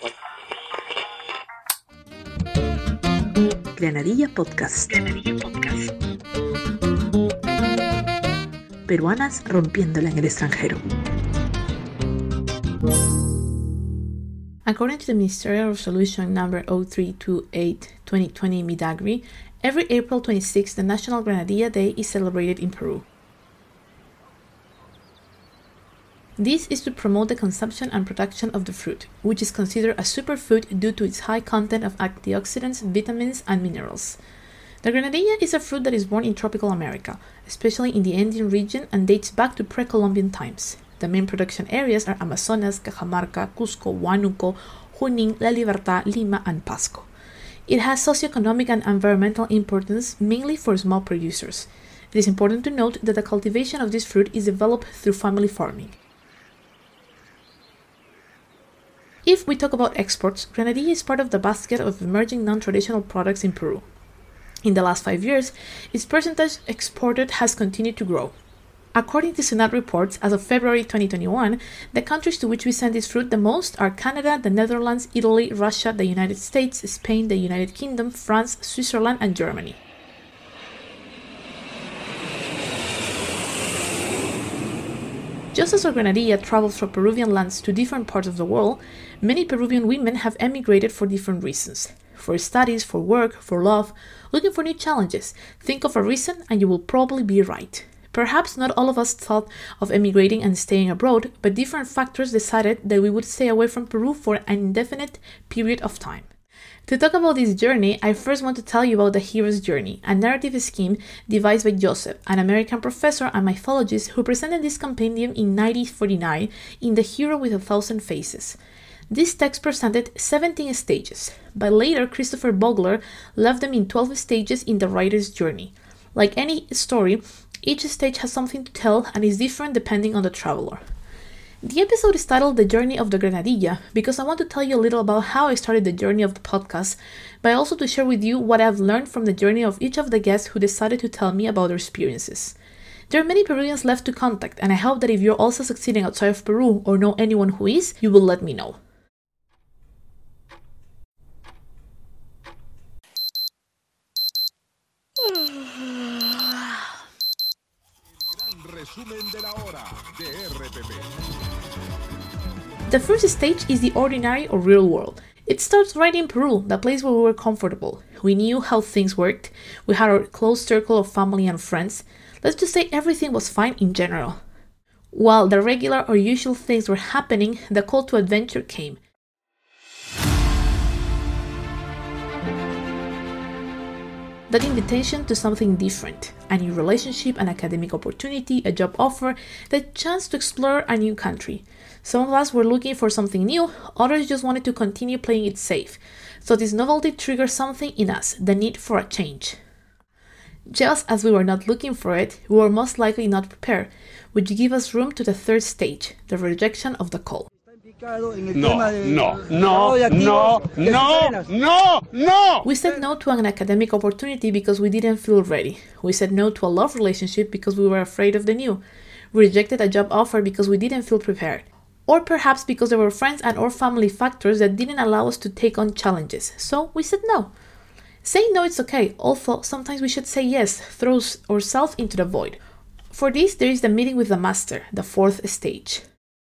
Granadilla Podcast. Peruanas rompiéndola en el extranjero. According to the Ministerial Resolution number 0328-2020 Midagri, every April 26, the National Granadilla Day is celebrated in Peru. This is to promote the consumption and production of the fruit, which is considered a superfood due to its high content of antioxidants, vitamins, and minerals. The granadilla is a fruit that is born in tropical America, especially in the Andean region, and dates back to pre-Columbian times. The main production areas are Amazonas, Cajamarca, Cusco, Huánuco, Junín, La Libertad, Lima, and Pasco. It has socioeconomic and environmental importance, mainly for small producers. It is important to note that the cultivation of this fruit is developed through family farming. If we talk about exports, granadilla is part of the basket of emerging non-traditional products in Peru. In the last 5 years, its percentage exported has continued to grow. According to SUNAT reports, as of February 2021, the countries to which we send this fruit the most are Canada, the Netherlands, Italy, Russia, the United States, Spain, the United Kingdom, France, Switzerland, and Germany. Just as our granadilla travels from Peruvian lands to different parts of the world, many Peruvian women have emigrated for different reasons. For studies, for work, for love, looking for new challenges. Think of a reason and you will probably be right. Perhaps not all of us thought of emigrating and staying abroad, but different factors decided that we would stay away from Peru for an indefinite period of time. To talk about this journey, I first want to tell you about the hero's journey, a narrative scheme devised by Joseph, an American professor and mythologist who presented this compendium in 1949 in The Hero with 1,000 Faces. This text presented 17 stages, but later Christopher Vogler left them in 12 stages in the writer's journey. Like any story, each stage has something to tell and is different depending on the traveler. The episode is titled The Journey of the Granadilla because I want to tell you a little about how I started the journey of the podcast, but also to share with you what I've learned from the journey of each of the guests who decided to tell me about their experiences. There are many Peruvians left to contact, and I hope that if you're also succeeding outside of Peru or know anyone who is, you will let me know. The first stage is the ordinary or real world. It starts right in Peru, the place where we were comfortable. We knew how things worked. We had our close circle of family and friends. Let's just say everything was fine in general. While the regular or usual things were happening, the call to adventure came. That invitation to something different, a new relationship, an academic opportunity, a job offer, the chance to explore a new country. Some of us were looking for something new, others just wanted to continue playing it safe. So this novelty triggered something in us, the need for a change. Just as we were not looking for it, we were most likely not prepared, which gave us room to the third stage, the rejection of the call. No. We said no to an academic opportunity because we didn't feel ready. We said no to a love relationship because we were afraid of the new. We rejected a job offer because we didn't feel prepared. Or perhaps because there were friends and or family factors that didn't allow us to take on challenges. So we said no. Saying no is okay, although sometimes we should say yes, throw ourselves into the void. For this, there is the meeting with the master, the fourth stage.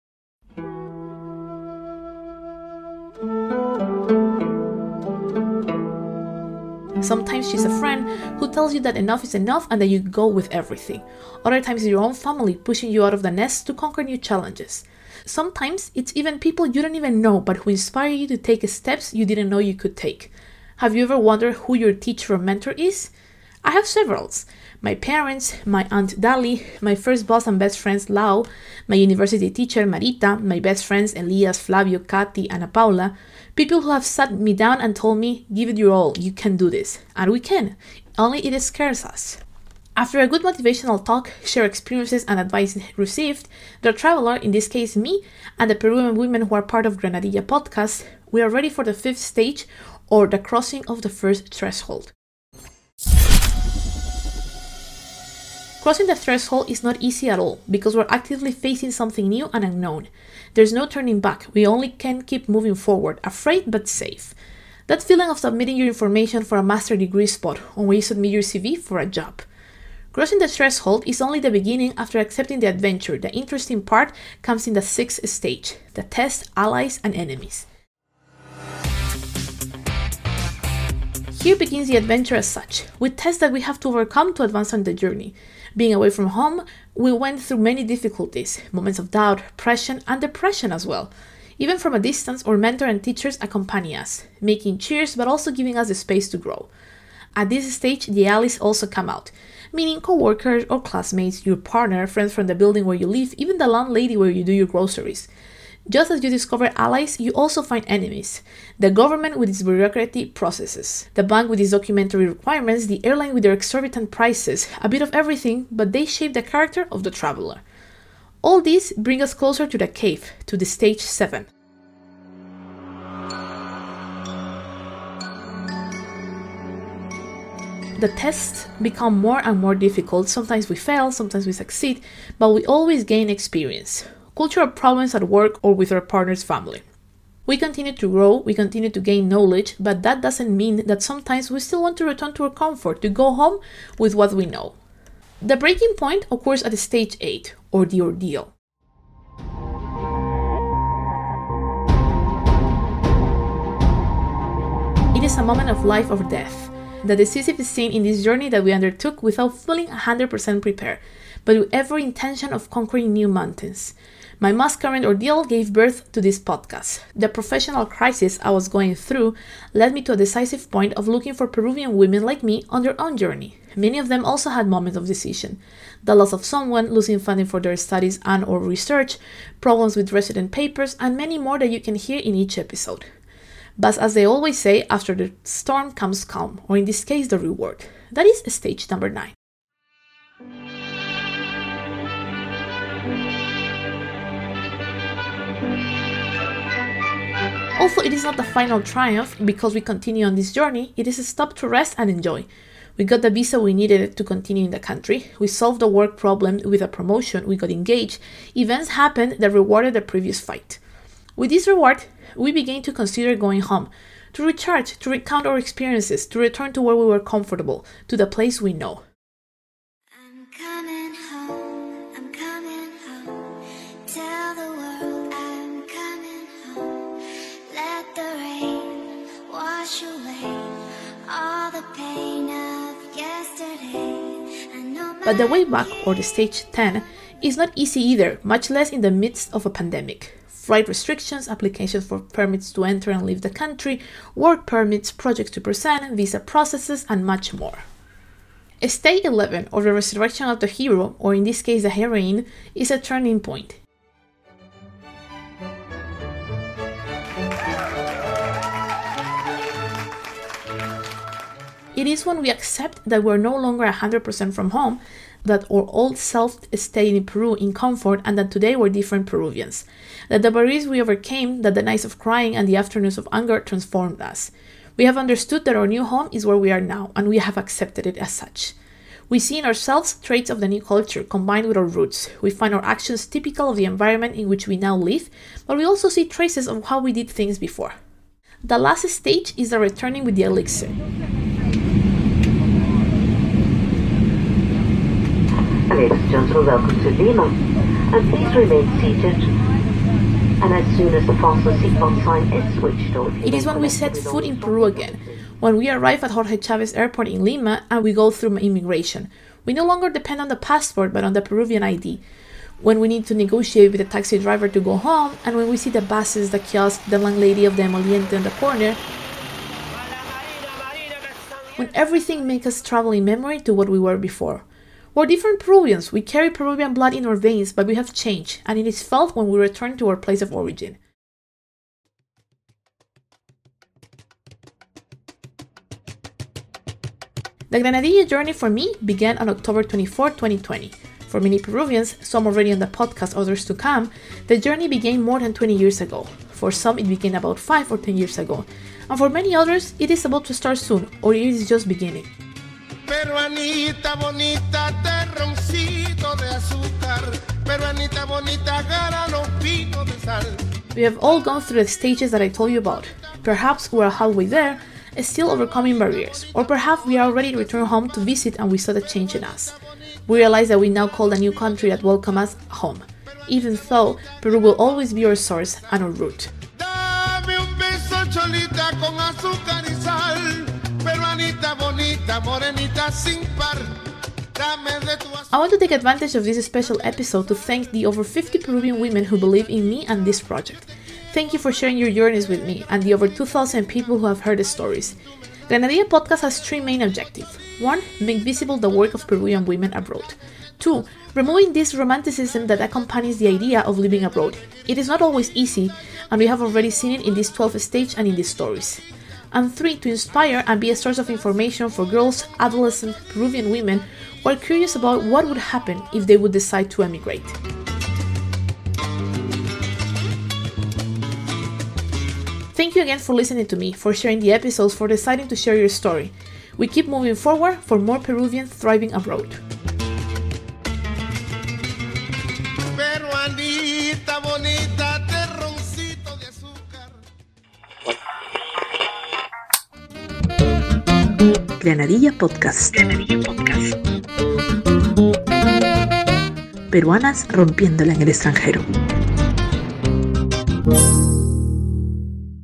Sometimes she's a friend who tells you that enough is enough and that you go with everything. Other times it's your own family pushing you out of the nest to conquer new challenges. Sometimes it's even people you don't even know but who inspire you to take steps you didn't know you could take. Have you ever wondered who your teacher or mentor is? I have several. My parents, my aunt Dali, my first boss and best friends Lau, my university teacher Marita, my best friends Elias, Flavio, Katy, Ana Paula, people who have sat me down and told me, give it your all, you can do this. And we can, only it scares us. After a good motivational talk, share experiences and advice received, the traveler, in this case me, and the Peruvian women who are part of Granadilla podcast, we are ready for the fifth stage, or the crossing of the first threshold. Crossing the threshold is not easy at all, because we're actively facing something new and unknown. There's no turning back. We only can keep moving forward, afraid but safe. That feeling of submitting your information for a master degree spot or when you submit your CV for a job. Crossing the threshold is only the beginning. After accepting the adventure, the interesting part comes in the 6th stage, the test, allies, and enemies. Here begins the adventure as such, with tests that we have to overcome to advance on the journey. Being away from home, we went through many difficulties, moments of doubt, pressure, and depression as well. Even from a distance, our mentor and teachers accompany us, making cheers but also giving us the space to grow. At this stage, the allies also come out, meaning co-workers or classmates, your partner, friends from the building where you live, even the landlady where you do your groceries. Just as you discover allies, you also find enemies. The government with its bureaucracy processes, the bank with its documentary requirements, the airline with their exorbitant prices, a bit of everything, but they shape the character of the traveler. All these bring us closer to the cave, to the stage 7. The tests become more and more difficult. Sometimes we fail, sometimes we succeed, but we always gain experience. Cultural problems at work or with our partner's family. We continue to grow, we continue to gain knowledge, but that doesn't mean that sometimes we still want to return to our comfort, to go home with what we know. The breaking point occurs at stage 8, or the ordeal. It is a moment of life or death. The decisive scene in this journey that we undertook without feeling 100% prepared, but with every intention of conquering new mountains. My most current ordeal gave birth to this podcast. The professional crisis I was going through led me to a decisive point of looking for Peruvian women like me on their own journey. Many of them also had moments of decision. The loss of someone, losing funding for their studies and or research, problems with resident papers, and many more that you can hear in each episode. But as they always say, after the storm comes calm, or in this case, the reward. That is stage number 9. Although it is not the final triumph, because we continue on this journey, it is a stop to rest and enjoy. We got the visa we needed to continue in the country, we solved the work problem with a promotion, we got engaged, events happened that rewarded the previous fight. With this reward, we began to consider going home, to recharge, to recount our experiences, to return to where we were comfortable, to the place we know. I'm coming home, tell the world I'm coming home, let the rain wash away all the pain of yesterday. But the way back, or the stage 10, is not easy either, much less in the midst of a pandemic. Flight restrictions, applications for permits to enter and leave the country, work permits, projects to present, visa processes, and much more. Stage 11, or the resurrection of the hero, or in this case the heroine, is a turning point. It is when we accept that we're no longer 100% from home, that our old self stayed in Peru in comfort, and that today we're different Peruvians. That the barriers we overcame, that the nights of crying and the afternoons of anger transformed us. We have understood that our new home is where we are now, and we have accepted it as such. We see in ourselves traits of the new culture combined with our roots. We find our actions typical of the environment in which we now live, but we also see traces of how we did things before. The last stage is the returning with the elixir. Ladies and gentlemen, welcome to Lima, and please remain seated, and as soon as the fasten seatbelt sign is switched on. It is when we set foot in Peru again, when we arrive at Jorge Chávez Airport in Lima and we go through immigration. We no longer depend on the passport but on the Peruvian ID. When we need to negotiate with the taxi driver to go home, and when we see the buses, the kiosk, the landlady of the emoliente on the corner, when everything makes us travel in memory to what we were before. We're different Peruvians. We carry Peruvian blood in our veins, but we have changed, and it is felt when we return to our place of origin. The Granadilla journey for me began on October 24, 2020. For many Peruvians, some already on the podcast, others to come, the journey began more than 20 years ago. For some, it began about 5 or 10 years ago. And for many others, it is about to start soon, or it is just beginning. Peruanita bonita, terroncito de azúcar, We have all gone through the stages that I told you about. Perhaps we're halfway there, still overcoming barriers, or perhaps we are already returned home to visit and we saw the change in us. We realize that we now call a new country that welcomes us home, even though Peru will always be our source and our root. I want to take advantage of this special episode to thank the over 50 Peruvian women who believe in me and this project. Thank you for sharing your journeys with me and the over 2,000 people who have heard the stories. Granadilla Podcast has three main objectives. 1. Make visible the work of Peruvian women abroad. 2. Removing this romanticism that accompanies the idea of living abroad. It is not always easy, and we have already seen it in this 12th stage and in these stories. And 3. To inspire and be a source of information for girls, adolescent Peruvian women who are curious about what would happen if they would decide to emigrate. Thank you again for listening to me, for sharing the episodes, for deciding to share your story. We keep moving forward for more Peruvians thriving abroad. Peruanita bonita, terroncito de azúcar. Granadilla Podcast. Peruanas rompiéndola en el extranjero.